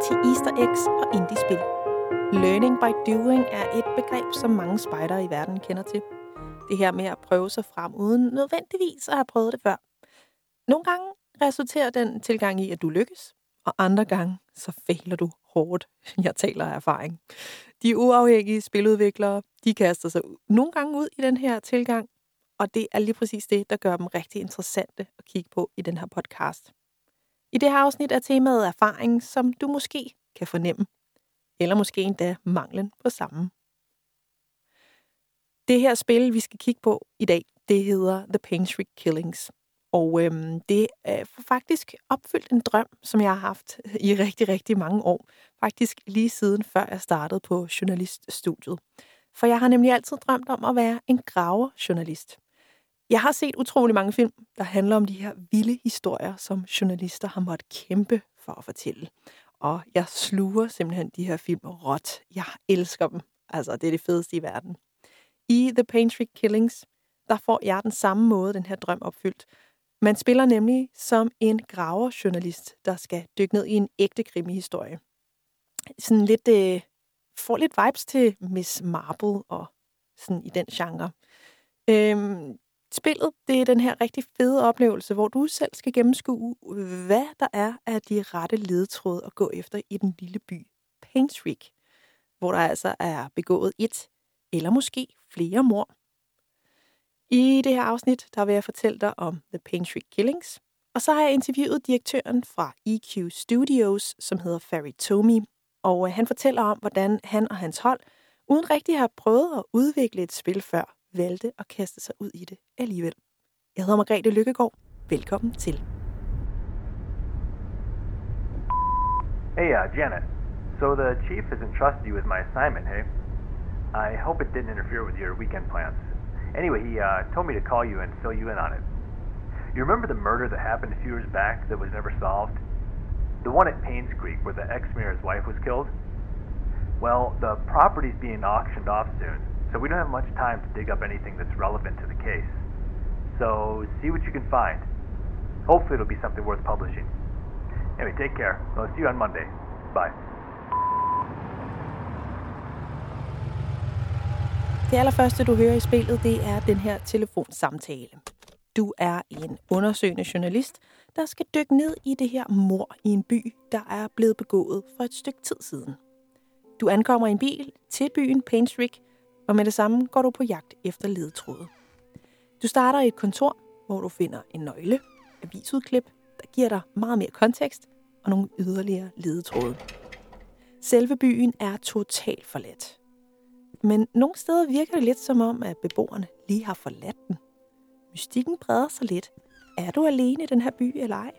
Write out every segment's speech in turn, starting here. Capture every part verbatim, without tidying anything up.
anti-easter eggs og indie-spil. Learning by doing er et begreb, som mange spejdere i verden kender til. Det her med at prøve sig frem, uden nødvendigvis at have prøvet det før. Nogle gange resulterer den tilgang i, at du lykkes, og andre gange så fejler du hårdt. Jeg taler af erfaring. De uafhængige spiludviklere, de kaster sig nogle gange ud i den her tilgang, og det er lige præcis det, der gør dem rigtig interessante at kigge på i den her podcast. I det her afsnit er temaet erfaring, som du måske kan fornemme, eller måske endda manglen på samme. Det her spil, vi skal kigge på i dag, det hedder The Pain Streak Killings. Og øhm, det er faktisk opfyldt en drøm, som jeg har haft i rigtig, rigtig mange år. Faktisk lige siden før jeg startede på journaliststudiet. For jeg har nemlig altid drømt om at være en graverjournalist. Jeg har set utrolig mange film, der handler om de her vilde historier, som journalister har måttet kæmpe for at fortælle. Og jeg sluger simpelthen de her film råt. Jeg elsker dem. Altså, det er det fedeste i verden. I The Pain Streak Killings, der får jeg den samme måde, den her drøm opfyldt. Man spiller nemlig som en graverjournalist, der skal dykke ned i en ægte krimihistorie. Sådan lidt, øh, får lidt vibes til Miss Marple og sådan i den genre. Øhm, spillet, det er den her rigtig fede oplevelse, hvor du selv skal gennemskue, hvad der er af de rette ledetråde at gå efter i den lille by Pain Streak, hvor der altså er begået et eller måske flere mord. I det her afsnit, der vil jeg fortælle dig om The Pain Streak Killings, og så har jeg interviewet direktøren fra E Q Studios, som hedder Ferry Tomi, og han fortæller om, hvordan han og hans hold, uden rigtig at have prøvet at udvikle et spil før, valgte at kaste sig ud i det alligevel. Jeg hedder Margrethe Lykkegaard. Velkommen til. Hey, uh, Janet. So the chief has entrusted you with my assignment, hey? I hope it didn't interfere with your weekend plans. Anyway, he uh, told me to call you and fill you in on it. You remember the murder that happened a few years back that was never solved? The one at Paynes Creek where the ex-mayor's wife was killed? Well, the property's being auctioned off soon, so we don't have much time to dig up anything that's relevant to the case. So, see what you can find. Hopefully it'll be something worth publishing. Anyway, take care. I'll see you on Monday. Bye. Det allerførste, du hører i spillet, det er den her telefonsamtale. Du er en undersøgende journalist, der skal dykke ned i det her mord i en by, der er blevet begået for et stykke tid siden. Du ankommer i en bil til byen Pain Streak, og med det samme går du på jagt efter ledetråde. Du starter i et kontor, hvor du finder en nøgle, avisudklip, der giver dig meget mere kontekst og nogle yderligere ledetråde. Selve byen er totalt forladt. Men nogle steder virker det lidt som om, at beboerne lige har forladt den. Mystikken breder sig lidt. Er du alene i den her by eller ej?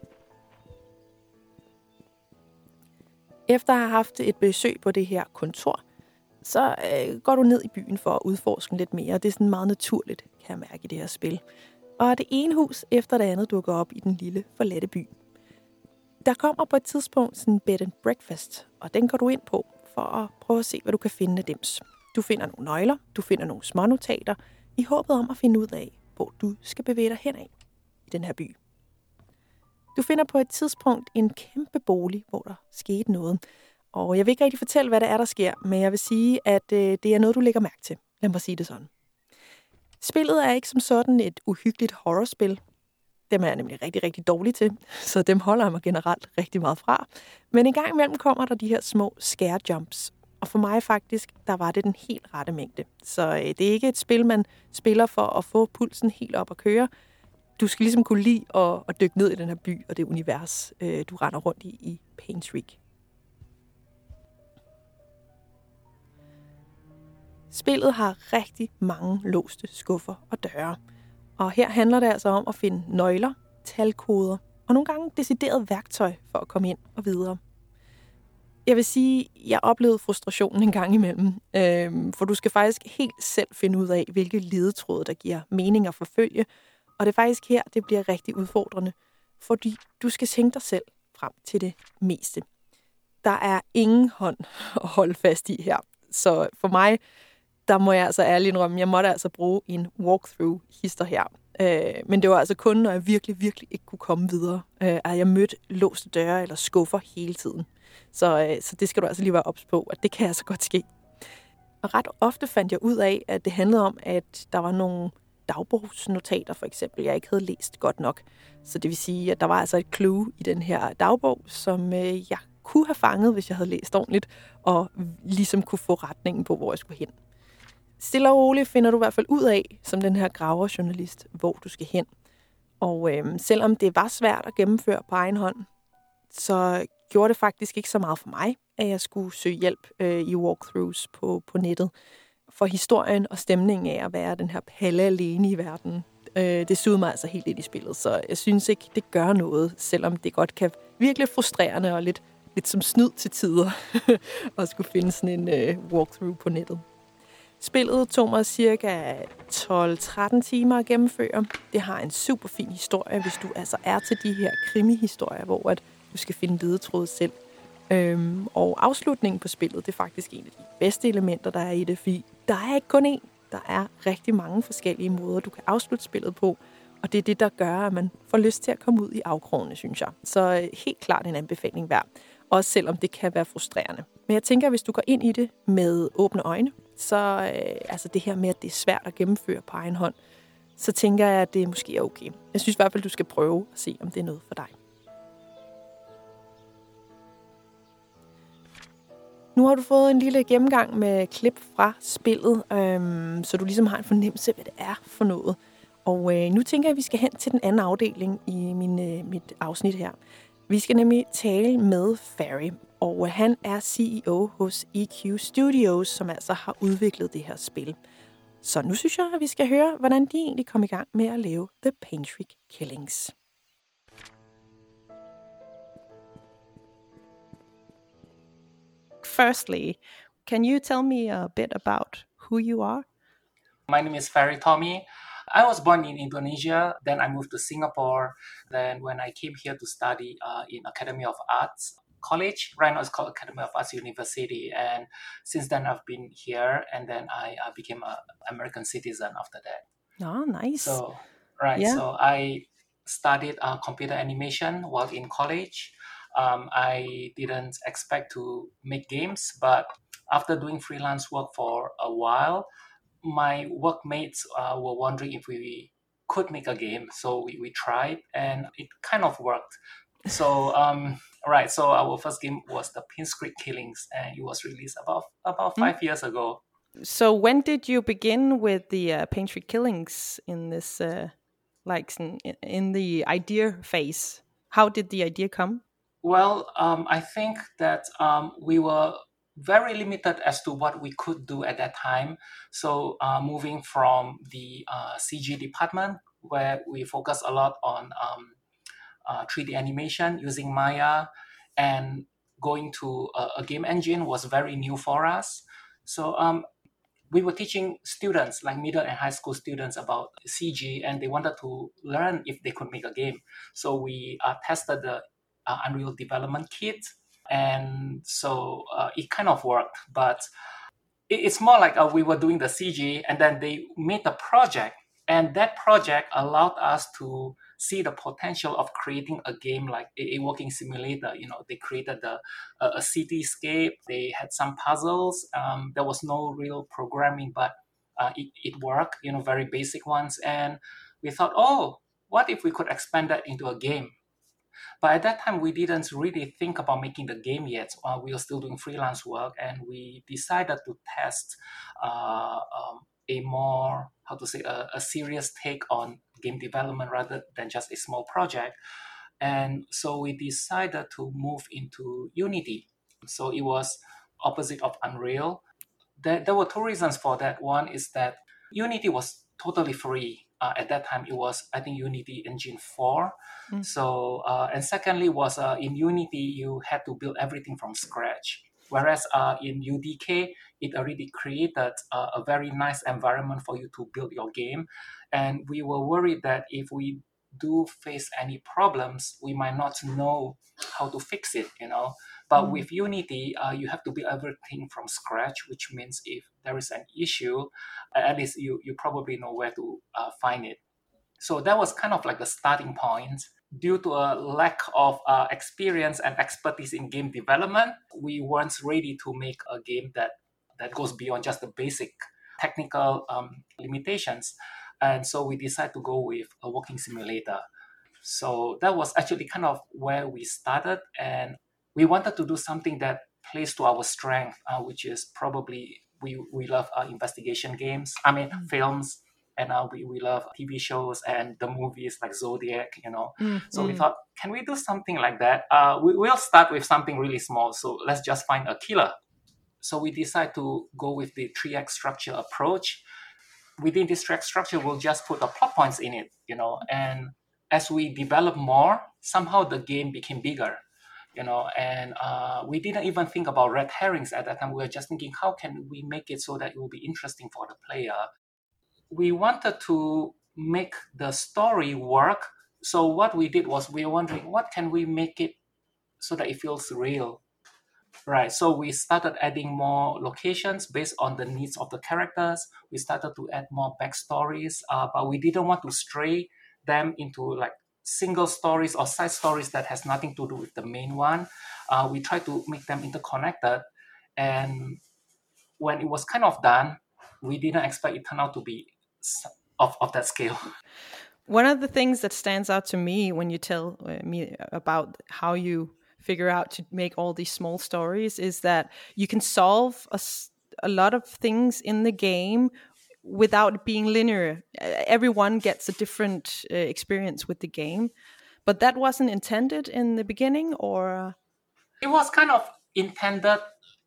Efter at have haft et besøg på det her kontor, så øh, går du ned i byen for at udforske lidt mere. Det er sådan meget naturligt, kan jeg mærke i det her spil. Og det ene hus efter det andet dukker op i den lille forladte by. Der kommer på et tidspunkt sådan en bed and breakfast, og den går du ind på for at prøve at se, hvad du kan finde af dems. Du finder nogle nøgler, du finder nogle smånotater, i håbet om at finde ud af, hvor du skal bevæge dig henad i den her by. Du finder på et tidspunkt en kæmpe bolig, hvor der skete noget. Og jeg vil ikke rigtig fortælle, hvad det er, der sker, men jeg vil sige, at øh, det er noget, du lægger mærke til. Lad mig sige det sådan. Spillet er ikke som sådan et uhyggeligt horrorspil. Dem er jeg nemlig rigtig, rigtig dårlig til, så dem holder jeg mig generelt rigtig meget fra. Men en gang imellem kommer der de her små scare jumps. Og for mig faktisk, der var det den helt rette mængde. Så øh, det er ikke et spil, man spiller for at få pulsen helt op at køre. Du skal ligesom kunne lide at, at dykke ned i den her by og det univers, øh, du render rundt i i Pain Streak. Spillet har rigtig mange låste skuffer og døre. Og her handler det altså om at finde nøgler, talkoder og nogle gange decideret værktøj for at komme ind og videre. Jeg vil sige, at jeg oplevede frustrationen en gang imellem, øh, for du skal faktisk helt selv finde ud af, hvilke ledetråde, der giver mening at forfølge. Og det er faktisk her, det bliver rigtig udfordrende, fordi du skal tænke dig selv frem til det meste. Der er ingen hånd at holde fast i her. Så for mig, der må jeg altså ærligt indrømme, jeg måtte altså bruge en walkthrough-hister her. Øh, men det var altså kun, når jeg virkelig, virkelig ikke kunne komme videre, øh, at jeg mødte låste døre eller skuffer hele tiden. Så, øh, så det skal du altså lige være ops på, at det kan altså godt ske. Og ret ofte fandt jeg ud af, at det handlede om, at der var nogle dagbogsnotater, for eksempel, jeg ikke havde læst godt nok. Så det vil sige, at der var altså et clue i den her dagbog, som øh, jeg kunne have fanget, hvis jeg havde læst ordentligt, og ligesom kunne få retningen på, hvor jeg skulle hen. Stille og roligt finder du i hvert fald ud af, som den her graverjournalist, hvor du skal hen. Og øh, selvom det var svært at gennemføre på egen hånd, så gjorde det faktisk ikke så meget for mig, at jeg skulle søge hjælp øh, i walkthroughs på, på nettet. For historien og stemningen af at være den her palle alene i verden, øh, det sugede mig altså helt ind i spillet. Så jeg synes ikke, det gør noget, selvom det godt kan virkelig frustrerende og lidt, lidt som snyd til tider at skulle finde sådan en øh, walkthrough på nettet. Spillet tog mig cirka tolv tretten timer at gennemføre. Det har en super fin historie, hvis du altså er til de her krimi-historier, hvor at du skal finde ledetråd selv. Øhm, og afslutningen på spillet, det er faktisk en af de bedste elementer, der er i det, fordi der er ikke kun én. Der er rigtig mange forskellige måder, du kan afslutte spillet på, og det er det, der gør, at man får lyst til at komme ud i afkrogene, synes jeg. Så øh, helt klart en anbefaling værd, også selvom det kan være frustrerende. Men jeg tænker, at hvis du går ind i det med åbne øjne, så øh, altså det her med, at det er svært at gennemføre på egen hånd, så tænker jeg, at det måske er okay. Jeg synes i hvert fald, du skal prøve at se, om det er noget for dig. Nu har du fået en lille gennemgang med klip fra spillet, øhm, så du ligesom har en fornemmelse af, hvad det er for noget. Og øh, nu tænker jeg, at vi skal hen til den anden afdeling i min, øh, mit afsnit her. Vi skal nemlig tale med Ferry, og han er C E O hos E Q Studios, som altså har udviklet det her spil. Så nu synes jeg, at vi skal høre, hvordan de egentlig kom i gang med at lave The Paintrick Killings. Firstly, can you tell me a bit about who you are? My name is Ferry Tommy. I was born in Indonesia, then I moved to Singapore. Then when I came here to study uh, in Academy of Arts College, right now it's called Academy of Arts University. And since then I've been here, and then I uh, became an American citizen after that. Oh, nice. So, right, yeah. so I studied uh, computer animation while in college. Um, I didn't expect to make games, but after doing freelance work for a while, my workmates uh, were wondering if we could make a game. So we, we tried, and it kind of worked. So, um, right, so our first game was the Paintrick Killings, and it was released about about five mm. years ago. So when did you begin with the uh, Paintrick Killings in this, uh, like, in, in the idea phase? How did the idea come? Well, um, I think that um, we were very limited as to what we could do at that time. So uh, moving from the uh, C G department, where we focus a lot on um, uh, three D animation using Maya, and going to a, a game engine was very new for us. So um, we were teaching students, like middle and high school students, about C G, and they wanted to learn if they could make a game. So we uh, tested the Uh, Unreal Development Kit, and so uh, it kind of worked, but it, it's more like uh, we were doing the C G, and then they made the project, and that project allowed us to see the potential of creating a game like a, a walking simulator. You know, they created the, uh, a cityscape, they had some puzzles, um, there was no real programming, but uh, it, it worked, you know, very basic ones, and we thought, oh, what if we could expand that into a game? But at that time, we didn't really think about making the game yet. Uh, we were still doing freelance work, and we decided to test uh, um, a more, how to say, a, a serious take on game development rather than just a small project. And so we decided to move into Unity. So it was opposite of Unreal. There, there were two reasons for that. One is that Unity was totally free. Uh, at that time, it was, I think, Unity Engine four. Mm. So, uh, and secondly was uh, in Unity, you had to build everything from scratch. Whereas uh, in U D K, it already created uh, a very nice environment for you to build your game. And we were worried that if we do face any problems, we might not know how to fix it, you know. But mm. with Unity, uh, you have to build everything from scratch, which means if there is an issue, at least you, you probably know where to uh, find it. So that was kind of like the starting point. Due to a lack of uh, experience and expertise in game development, we weren't ready to make a game that, that goes beyond just the basic technical um, limitations. And so we decided to go with a walking simulator. So that was actually kind of where we started. And we wanted to do something that plays to our strength, uh, which is probably we, we love uh, investigation games, I mean, mm. films. And uh, we, we love T V shows and the movies like Zodiac, you know. Mm, so mm. we thought, can we do something like that? Uh, we, we'll start with something really small. So let's just find a killer. So we decide to go with the three X structure approach. Within this three X structure, we'll just put the plot points in it, you know. And as we develop more, somehow the game became bigger, you know. And uh, we didn't even think about red herrings at that time. We were just thinking, how can we make it so that it will be interesting for the player? We wanted to make the story work. So what we did was we were wondering, what can we make it so that it feels real? Right. So we started adding more locations based on the needs of the characters. We started to add more backstories, uh, but we didn't want to stray them into like single stories or side stories that has nothing to do with the main one. Uh, we tried to make them interconnected. And when it was kind of done, we didn't expect it turned out to be of, of that scale. One of the things that stands out to me when you tell me about how you figure out to make all these small stories is that you can solve a, a lot of things in the game without being linear. Everyone gets a different uh, experience with the game, but that wasn't intended in the beginning, or? It was kind of intended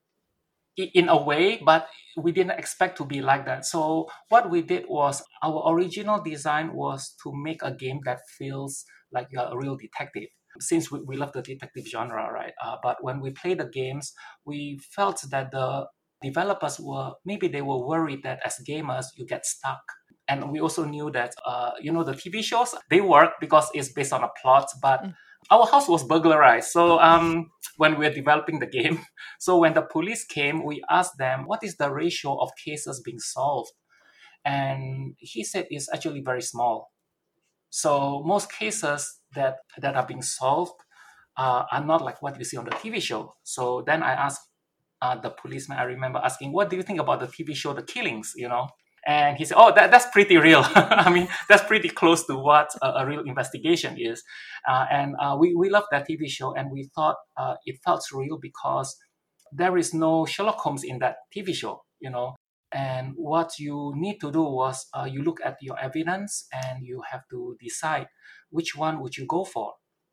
in a way, but we didn't expect to be like that. So what we did was, our original design was to make a game that feels like you're a real detective. Since we, we love the detective genre, right? Uh, but when we play the games, we felt that the developers were, maybe they were worried that as gamers, you get stuck. And we also knew that, uh, you know, the T V shows, they work because it's based on a plot, but mm. our house was burglarized. So um, when we were developing the game, so when the police came, we asked them, what is the ratio of cases being solved? And he said it's actually very small. So most cases that, that are being solved uh, are not like what you see on the T V show. So then I asked uh, the policeman, I remember asking, what do you think about the T V show, The Killings, you know? And he said, oh, that, that's pretty real. I mean, that's pretty close to what a, a real investigation is. Uh, and uh, we, we loved that T V show, and we thought uh, it felt real because there is no Sherlock Holmes in that T V show, you know. And what you need to do was uh, you look at your evidence and you have to decide which one would you go for.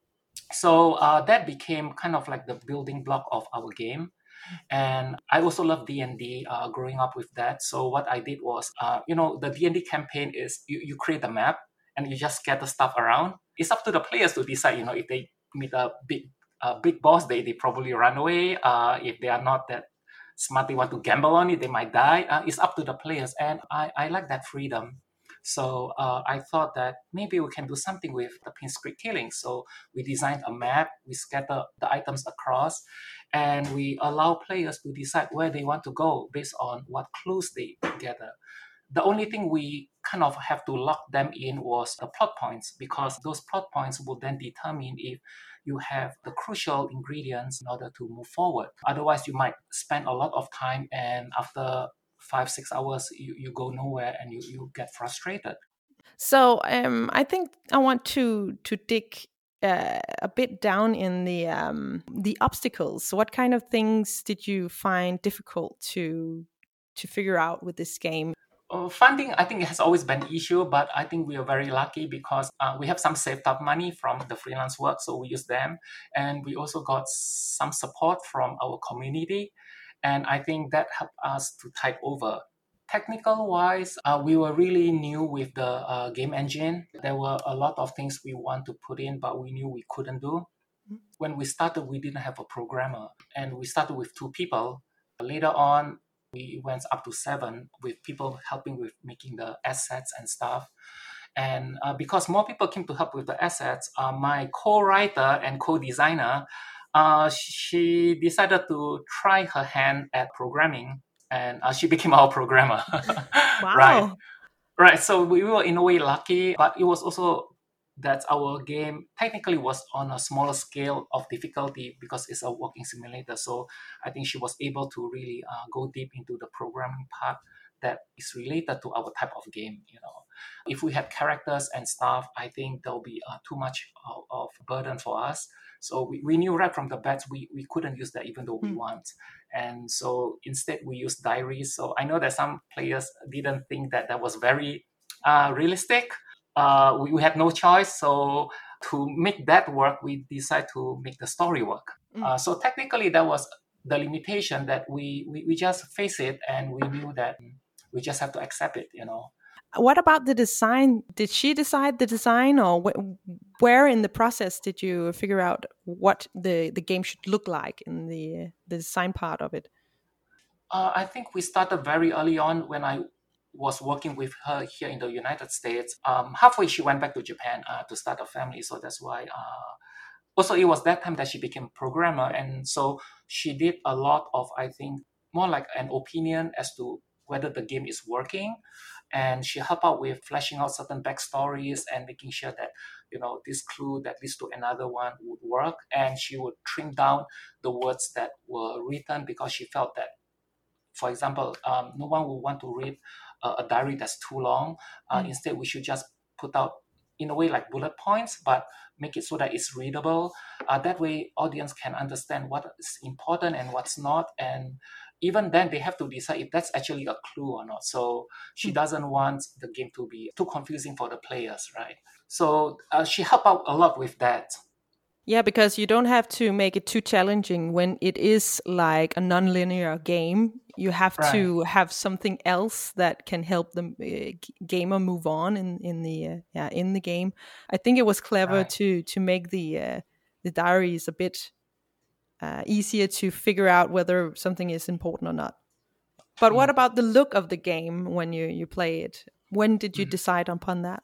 So uh, that became kind of like the building block of our game. And I also love D and D uh, growing up with that. So what I did was, uh, you know, the D and D campaign is you, you create a map and you just scatter stuff around. It's up to the players to decide, you know, if they meet a big uh, big boss, they, they probably run away. Uh, if they are not that smart, they want to gamble on it, they might die. Uh, it's up to the players. And I, I like that freedom. So uh, I thought that maybe we can do something with the Pinstrick Killings. So we designed a map, we scatter the items across, and we allow players to decide where they want to go based on what clues they gather. The only thing we kind of have to lock them in was the plot points, because those plot points will then determine if you have the crucial ingredients in order to move forward. Otherwise, you might spend a lot of time, and after five, six hours, you, you go nowhere and you, you get frustrated. So um, I think I want to to dig uh, a bit down in the um, the obstacles. What kind of things did you find difficult to to figure out with this game? Uh, funding, I think it has always been an issue, but I think we are very lucky because uh, we have some saved up money from the freelance work, so we use them. And we also got some support from our community. And I think that helped us to tide over. Technical-wise, uh, we were really new with the uh, game engine. There were a lot of things we want to put in, but we knew we couldn't do. When we started, we didn't have a programmer. And we started with two people. Later on, we went up to seven with people helping with making the assets and stuff. And uh, because more people came to help with the assets, uh, my co-writer and co-designer, uh, she decided to try her hand at programming, and uh, she became our programmer. Wow. Right. Right. So we were in a way lucky, but it was also that our game technically was on a smaller scale of difficulty because it's a walking simulator. So I think she was able to really uh, go deep into the programming part that is related to our type of game. You know, if we had characters and stuff, I think there'll be uh, too much of, of burden for us. So we, we knew right from the bat we, we couldn't use that even though we Mm. want. And so instead we used diaries. So I know that some players didn't think that that was very uh, realistic. Uh, we, we had no choice. So to make that work, we decided to make the story work. Mm. Uh, so technically that was the limitation that we, we, we just face it, and we knew that we just have to accept it, you know. What about the design? Did she decide the design, or wh- where in the process did you figure out what the, the game should look like in the the design part of it? Uh, I think we started very early on when I was working with her here in the United States. Um, halfway, she went back to Japan uh, to start a family. So that's why. Uh, also, it was that time that she became programmer. And so she did a lot of, I think, more like an opinion as to whether the game is working. And she helped out with fleshing out certain backstories and making sure that, you know, this clue that leads to another one would work. And she would trim down the words that were written because she felt that, for example, um, no one will want to read uh, a diary that's too long. Uh, Mm. Instead, we should just put out, in a way, like bullet points, but make it so that it's readable. Uh, that way, audience can understand what is important and what's not. And even then, they have to decide if that's actually a clue or not. So she Mm. doesn't want the game to be too confusing for the players, right? So uh, she helped out a lot with that. Yeah, because you don't have to make it too challenging when it is like a non-linear game. You have Right. to have something else that can help the uh, g- gamer move on in in the uh, yeah in the game. I think it was clever Right. to to make the uh, the diaries a bit uh, easier to figure out whether something is important or not. But what Mm. about the look of the game when you you play it? When did you Mm. decide upon that?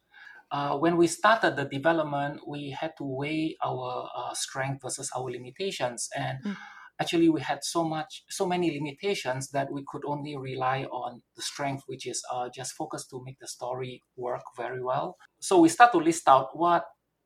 Uh, when we started the development, we had to weigh our uh, strength versus our limitations. And Mm. actually, we had so much, so many limitations that we could only rely on the strength, which is uh, just focus to make the story work very well. So we start to list out what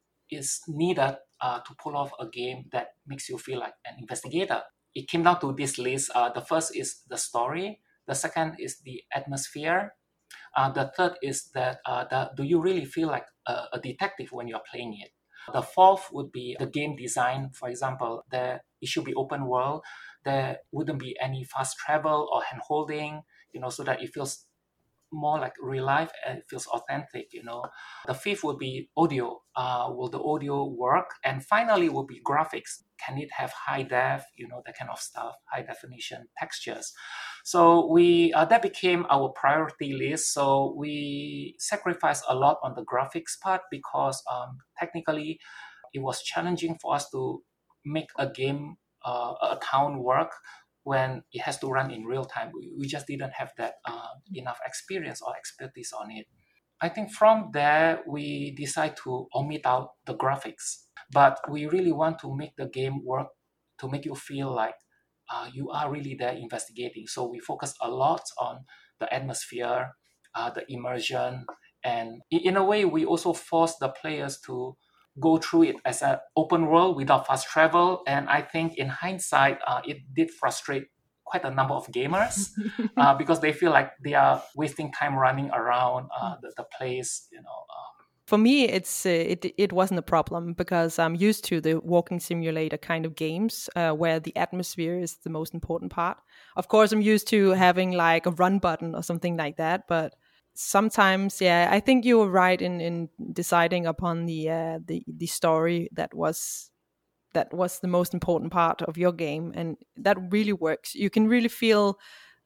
is needed uh, to pull off a game that makes you feel like an investigator. It came down to this list. Uh, the first is the story. The second is the atmosphere. Uh, the third is that uh, the, do you really feel like a, a detective when you're playing it? The fourth would be the game design. For example, there it should be open world. There wouldn't be any fast travel or hand holding, you know, so that it feels more like real life and it feels authentic, you know. The fifth would be audio. Uh, will the audio work? And finally will be graphics. Can it have high def, you know, that kind of stuff, high definition textures. So we uh, that became our priority list. So we sacrificed a lot on the graphics part because um, technically it was challenging for us to make a game, uh, a town work when it has to run in real time. We, we just didn't have that uh, enough experience or expertise on it. I think from there, we decide to omit out the graphics, but we really want to make the game work to make you feel like uh, you are really there investigating. So we focus a lot on the atmosphere, uh, the immersion, and in a way, we also force the players to go through it as an open world without fast travel. And I think in hindsight, uh, it did frustrate quite a number of gamers uh, because they feel like they are wasting time running around uh, the, the place, you know. Um, For me, it's uh, it it wasn't a problem because I'm used to the walking simulator kind of games uh, where the atmosphere is the most important part. Of course, I'm used to having like a run button or something like that, but sometimes, yeah, I think you were right in in deciding upon the uh, the the story that was that was the most important part of your game, and that really works. You can really feel,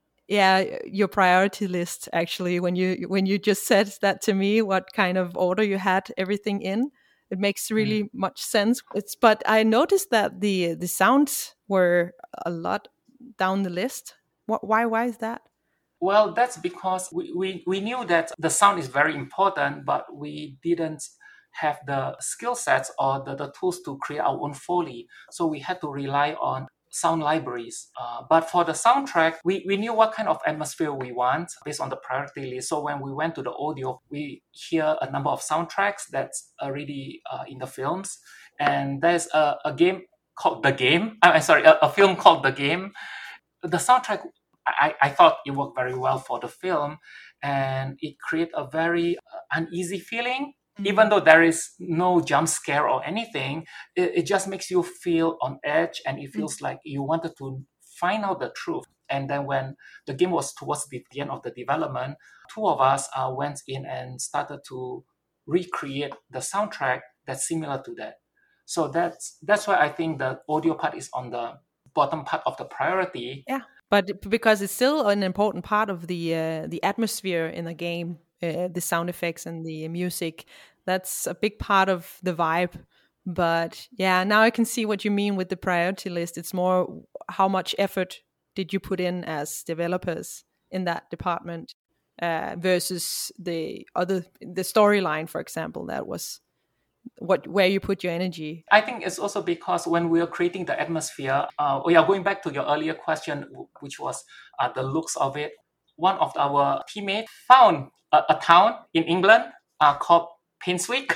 yeah, your priority list actually when you when you just said that to me, what kind of order you had everything in. It makes mm. really much sense. It's but I noticed that the the sounds were a lot down the list. What why why is that? Well, that's because we, we, we knew that the sound is very important, but we didn't have the skill sets or the, the tools to create our own Foley. So we had to rely on sound libraries. Uh, but for the soundtrack, we, we knew what kind of atmosphere we want based on the priority list. So when we went to the audio, we hear a number of soundtracks that's already uh, in the films. And there's a, a game called The Game. I'm sorry, a, a film called The Game. The soundtrack, I, I thought it worked very well for the film, and it created a very uh, uneasy feeling. Mm-hmm. Even though there is no jump scare or anything, it, it just makes you feel on edge, and it feels mm-hmm. like you wanted to find out the truth. And then when the game was towards the, the end of the development, two of us uh, went in and started to recreate the soundtrack that's similar to that. So that's that's why I think the audio part is on the bottom part of the priority. Yeah, but because it's still an important part of the uh, the atmosphere in the game, uh, the sound effects and the music, that's a big part of the vibe. But yeah, now I can see what you mean with the priority list. It's more how much effort did you put in as developers in that department uh, versus the other, the storyline, for example, that was what where you put your energy. I think it's also because when we are creating the atmosphere, uh, we are going back to your earlier question, which was uh, the looks of it. One of our teammates found a, a town in England uh, called Painswick.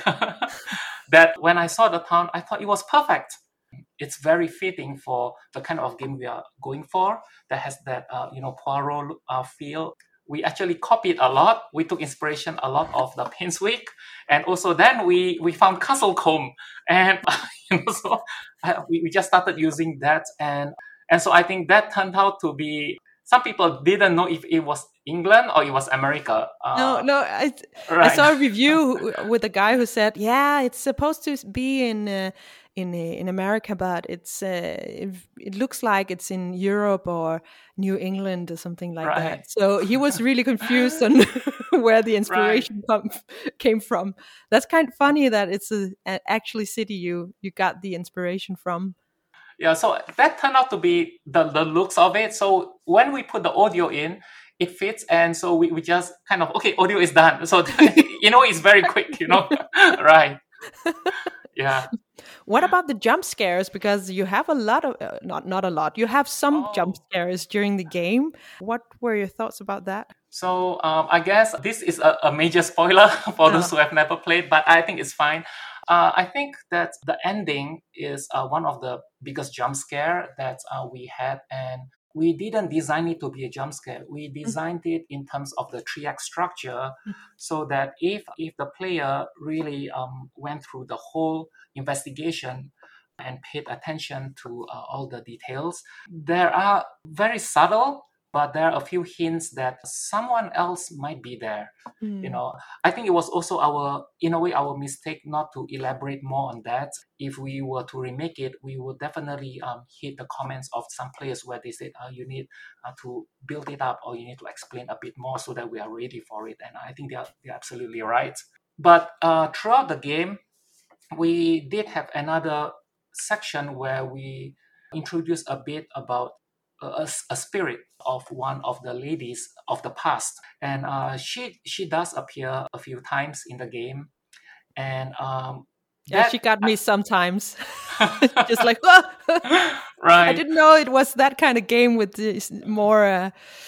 That when I saw the town, I thought it was perfect. It's very fitting for the kind of game we are going for that has that uh, you know Poirot uh, feel. We actually copied a lot. We took inspiration a lot of the Painswick, and also then we we found Castlecombe, and you know, so uh, we, we just started using that, and and so I think that turned out to be. Some people didn't know if it was England or it was America. Uh, no, no, I, right. I saw a review with a guy who said, "Yeah, it's supposed to be in uh, in in America, but it's uh, it, it looks like it's in Europe or New England or something like right. that." So he was really confused on where the inspiration right. come, came from. That's kind of funny that it's a, a actually city you you got the inspiration from. Yeah, so that turned out to be the, the looks of it. So when we put the audio in, it fits. And so we, we just kind of, okay, audio is done. So, you know, it's very quick, you know, right. Yeah. What about the jump scares? Because you have a lot of, uh, not not a lot, you have some oh. jump scares during the game. What were your thoughts about that? So um, I guess this is a, a major spoiler for uh-huh. those who have never played, but I think it's fine. Uh, I think that the ending is uh, one of the biggest jump scare that uh, we had, and we didn't design it to be a jump scare. We designed mm-hmm. it in terms of the three act structure, mm-hmm. so that if if the player really um, went through the whole investigation and paid attention to uh, all the details, there are very subtle, but there are a few hints that someone else might be there. Mm. You know, I think it was also our, in a way, our mistake not to elaborate more on that. If we were to remake it, we would definitely um, hit the comments of some players where they said, uh, you need uh, to build it up, or you need to explain a bit more so that we are ready for it. And I think they are, they're absolutely right. But uh, throughout the game, we did have another section where we introduced a bit about A, a spirit of one of the ladies of the past, and uh, she she does appear a few times in the game, and um, yeah, she got me I, sometimes, just like oh! right. I didn't know it was that kind of game with this more uh,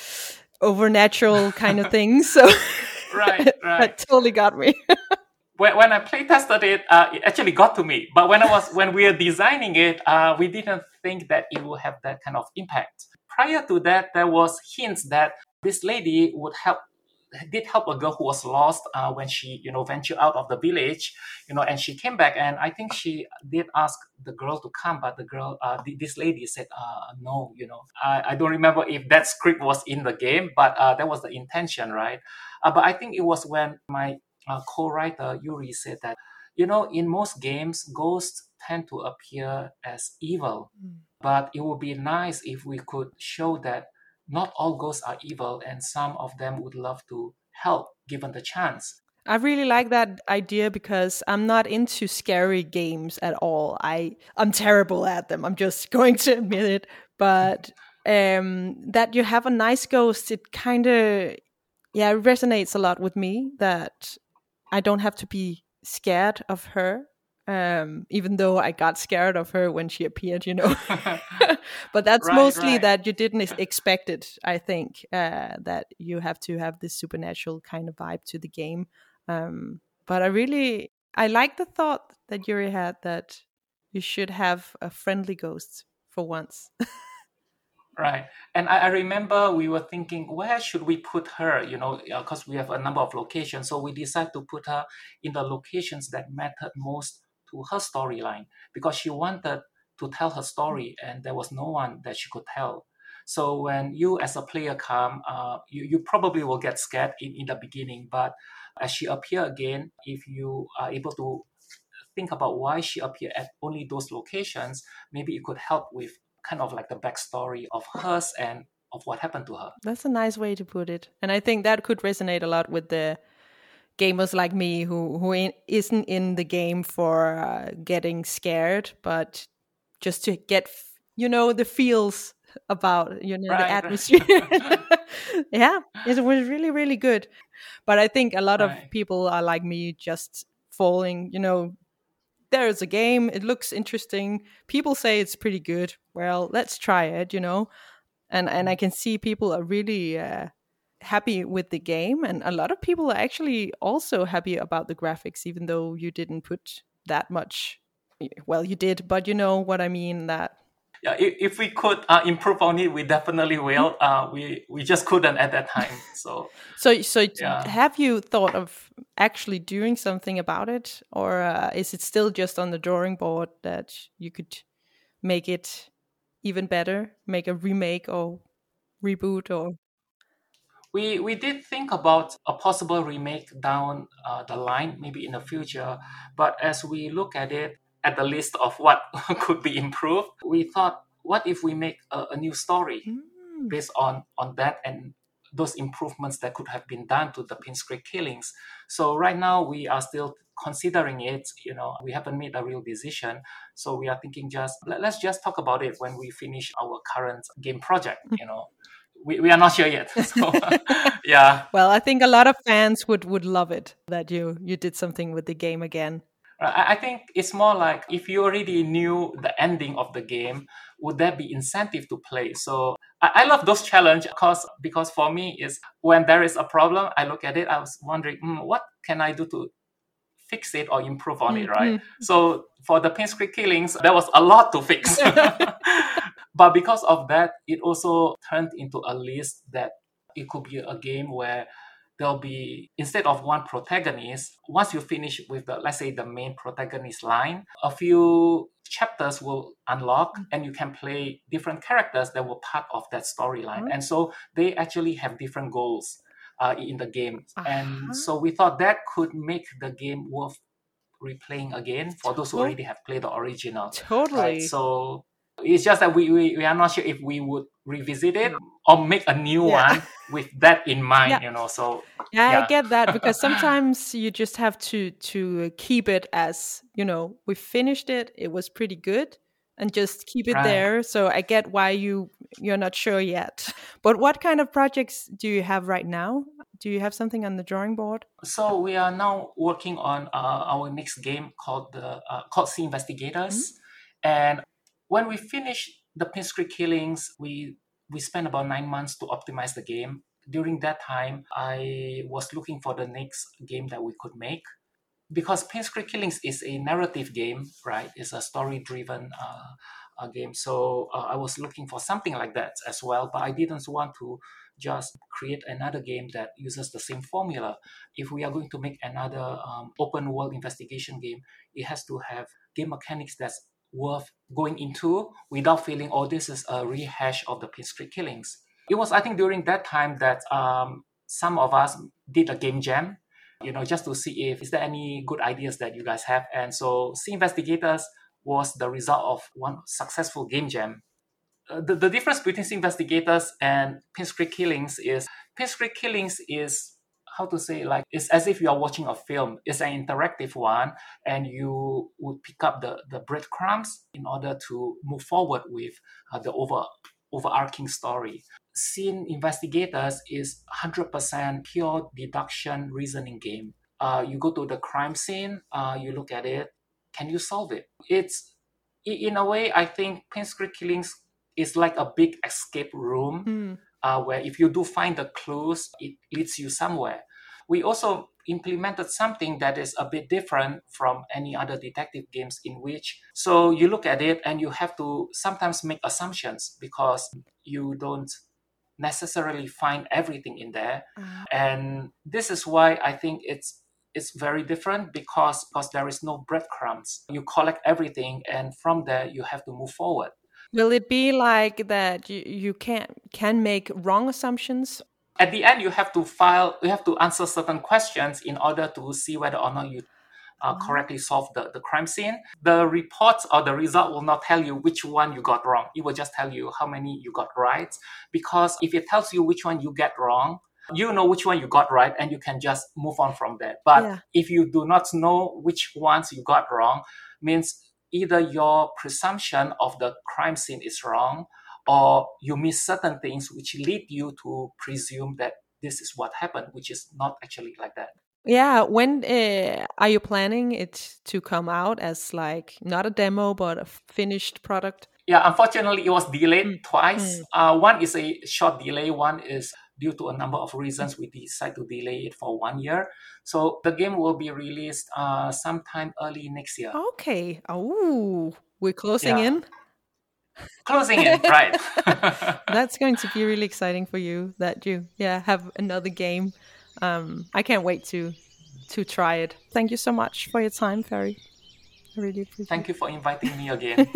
overnatural kind of things. So right, right, that totally got me. When, when I play tested it, uh, it actually got to me. But when I was when we were designing it, uh, we didn't think that it would have that kind of impact. Prior to that, there was hints that this lady would help, did help a girl who was lost uh, when she, you know, ventured out of the village, you know, and she came back. And I think she did ask the girl to come, but the girl, uh, this lady said, uh, no, you know. I, I don't remember if that script was in the game, but uh, that was the intention, right? Uh, but I think it was when my Uh, co-writer Yuri said that, you know, in most games, ghosts tend to appear as evil, mm. but it would be nice if we could show that not all ghosts are evil, and some of them would love to help given the chance. I really like that idea because I'm not into scary games at all. I, I'm terrible at them. I'm just going to admit it. But um, that you have a nice ghost, it kind of, yeah, it resonates a lot with me that I don't have to be scared of her. Um, even though I got scared of her when she appeared, you know. But that's Right, mostly right. that you didn't ex- expect it, I think, uh, that you have to have this supernatural kind of vibe to the game. Um, but I really, I like the thought that Yuri had that you should have a friendly ghost for once. Right. And I, I remember we were thinking, where should we put her? You know, because we have a number of locations. So we decided to put her in the locations that mattered most to her storyline because she wanted to tell her story and there was no one that she could tell. So when you as a player come, uh, you, you probably will get scared in, in the beginning. But as she appear again, if you are able to think about why she appeared at only those locations, maybe it could help with kind of like the backstory of hers and of what happened to her. That's a nice way to put it. And I think that could resonate a lot with the gamers like me who who in, isn't in the game for uh, getting scared, but just to get you know the feels about you know the Right, atmosphere. right. Yeah, it was really really good. But I think a lot of Right. people are like me, just falling. You know, there's a game. It looks interesting. People say it's pretty good. Well, let's try it. You know, and and I can see people are really uh, happy with the game, and a lot of people are actually also happy about the graphics, even though you didn't put that much. Well, you did, but you know what I mean. That Yeah, if, if we could uh, improve on it, we definitely will. Uh, we we just couldn't at that time. So so so yeah. have you thought of actually doing something about it, or uh, is it still just on the drawing board that you could make it even better, make a remake or reboot or We we did think about a possible remake down uh, the line, maybe in the future. But as we look at it, at the list of what could be improved, we thought, what if we make a, a new story Mm. based on on that and those improvements that could have been done to the Pinstrick killings? So right now we are still considering it. You know, we haven't made a real decision. So we are thinking just let, let's just talk about it when we finish our current game project. You know we, we are not sure yet. So yeah. Well, I think a lot of fans would would love it that you you did something with the game again. I I think it's more like if you already knew the ending of the game, would there be incentive to play? So I, I love those challenge because because for me is when there is a problem, I look at it, I was wondering, mm, what can I do to fix it or improve on it, right? Mm-hmm. So for the Pinstrick killings, there was a lot to fix. But because of that, it also turned into a list that it could be a game where there'll be, instead of one protagonist, once you finish with the, let's say the main protagonist line, a few chapters will unlock and you can play different characters that were part of that storyline. Uh-huh. And so they actually have different goals uh, in the game. And Uh-huh. so we thought that could make the game worth replaying again for those who To- already have played the original. Totally. Right. So it's just that we, we, we are not sure if we would revisit it or make a new Yeah. one with that in mind, Yeah. you know. So Yeah, yeah. I get that because sometimes you just have to to keep it as, you know, we finished it, it was pretty good, and just keep it Right. there. So I get why you you're not sure yet. But what kind of projects do you have right now? Do you have something on the drawing board? So we are now working on uh, our next game called the uh, called Sea Investigators, and when we finish the Pinstrick killings, we we spent about nine months to optimize the game. During that time, I was looking for the next game that we could make because Pinstrick killings is a narrative game, right? It's a story-driven uh, uh, game. So uh, I was looking for something like that as well, but I didn't want to just create another game that uses the same formula. If we are going to make another um, open world investigation game, it has to have game mechanics that's worth going into without feeling, oh, this is a rehash of the Pinstrick killings. It was, I think, during that time that um, some of us did a game jam, you know, just to see if is there any good ideas that you guys have. And so Sea Investigators was the result of one successful game jam. Uh, the, the difference between Sea Investigators and Pinstrick Killings is Pinstrick Killings is how to say, like, it's as if you are watching a film. It's an interactive one, and you would pick up the, the breadcrumbs in order to move forward with uh, the over overarching story. Scene Investigators is one hundred percent pure deduction reasoning game. Uh, you go to the crime scene, uh, you look at it, can you solve it? It's, in a way, I think Paint Street Killings is like a big escape room mm. uh, where if you do find the clues, it leads you somewhere. We also implemented something that is a bit different from any other detective games in which, so you look at it and you have to sometimes make assumptions because you don't necessarily find everything in there. Uh-huh. And this is why I think it's it's very different because, because there is no breadcrumbs. You collect everything and from there you have to move forward. Will it be like that you, you can can make wrong assumptions? At the end, you have to file, you have to answer certain questions in order to see whether or not you uh, wow. correctly solve the, the crime scene. The report or the result will not tell you which one you got wrong. It will just tell you how many you got right. Because if it tells you which one you get wrong, you know which one you got right and you can just move on from there. But yeah. if you do not know which ones you got wrong, means either your presumption of the crime scene is wrong, or you miss certain things which lead you to presume that this is what happened, which is not actually like that. Yeah, when uh, are you planning it to come out as like not a demo but a finished product? Yeah, unfortunately, it was delayed mm. twice. Mm. Uh, one is a short delay. One is due to a number of reasons. We decided to delay it for one year. So the game will be released uh, sometime early next year. Okay. Oh, we're closing yeah. in. Closing in, right. That's going to be really exciting for you that you yeah have another game. Um, I can't wait to to try it. Thank you so much for your time, Ferry. I really appreciate it. Thank you for inviting me again.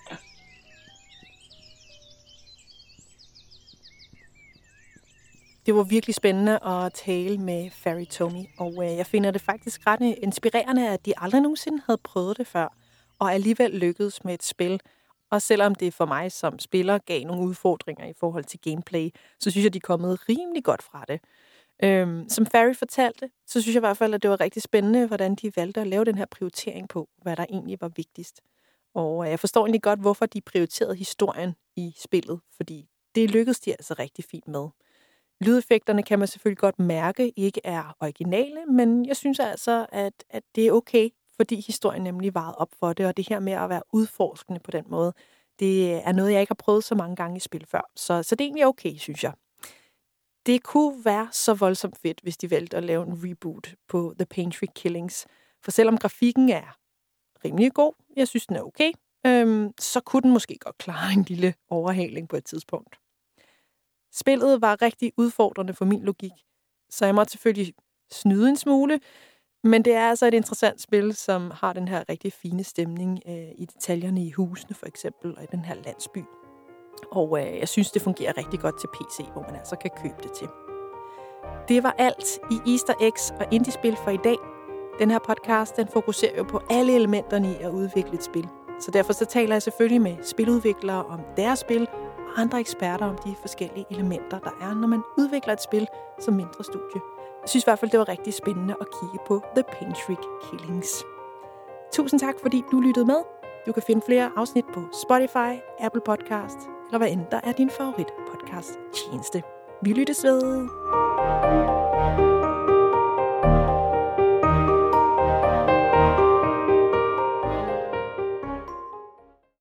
Det var virkelig spændende at tale med Ferry Tomy, og øh, jeg finder det faktisk ret inspirerende, at de aldrig nogensinde havde prøvet det før, og alligevel lykkedes med et spil. Og selvom det for mig som spiller gav nogle udfordringer i forhold til gameplay, så synes jeg, de er kommet rimelig godt fra det. Øhm, som Ferry fortalte, så synes jeg i hvert fald, at det var rigtig spændende, hvordan de valgte at lave den her prioritering på, hvad der egentlig var vigtigst. Og jeg forstår egentlig godt, hvorfor de prioriterede historien i spillet, fordi det lykkedes de altså rigtig fint med. Lydeffekterne kan man selvfølgelig godt mærke ikke er originale, men jeg synes altså, at, at det er okay, fordi historien nemlig varede op for det, og det her med at være udforskende på den måde, det er noget, jeg ikke har prøvet så mange gange i spil før. Så, så det er egentlig okay, synes jeg. Det kunne være så voldsomt fedt, hvis de valgte at lave en reboot på The Paint Street Killings. For selvom grafikken er rimelig god, jeg synes, den er okay, øhm, så kunne den måske godt klare en lille overhaling på et tidspunkt. Spillet var rigtig udfordrende for min logik, så jeg måtte selvfølgelig snyde en smule, men det er altså et interessant spil, som har den her rigtig fine stemning øh, i detaljerne i husene for eksempel, og i den her landsby. Og øh, jeg synes, det fungerer rigtig godt til P C, hvor man altså kan købe det til. Det var alt i Easter Eggs og Indie-spil for i dag. Den her podcast, den fokuserer jo på alle elementerne i at udvikle et spil. Så derfor så taler jeg selvfølgelig med spiludviklere om deres spil, og andre eksperter om de forskellige elementer, der er, når man udvikler et spil som mindre studie. Jeg synes i hvert fald, det var rigtig spændende at kigge på The Paint Street Killings. Tusind tak, fordi du lyttede med. Du kan finde flere afsnit på Spotify, Apple Podcast, eller hvad end der er din favorit podcast tjeneste. Vi lyttes ved.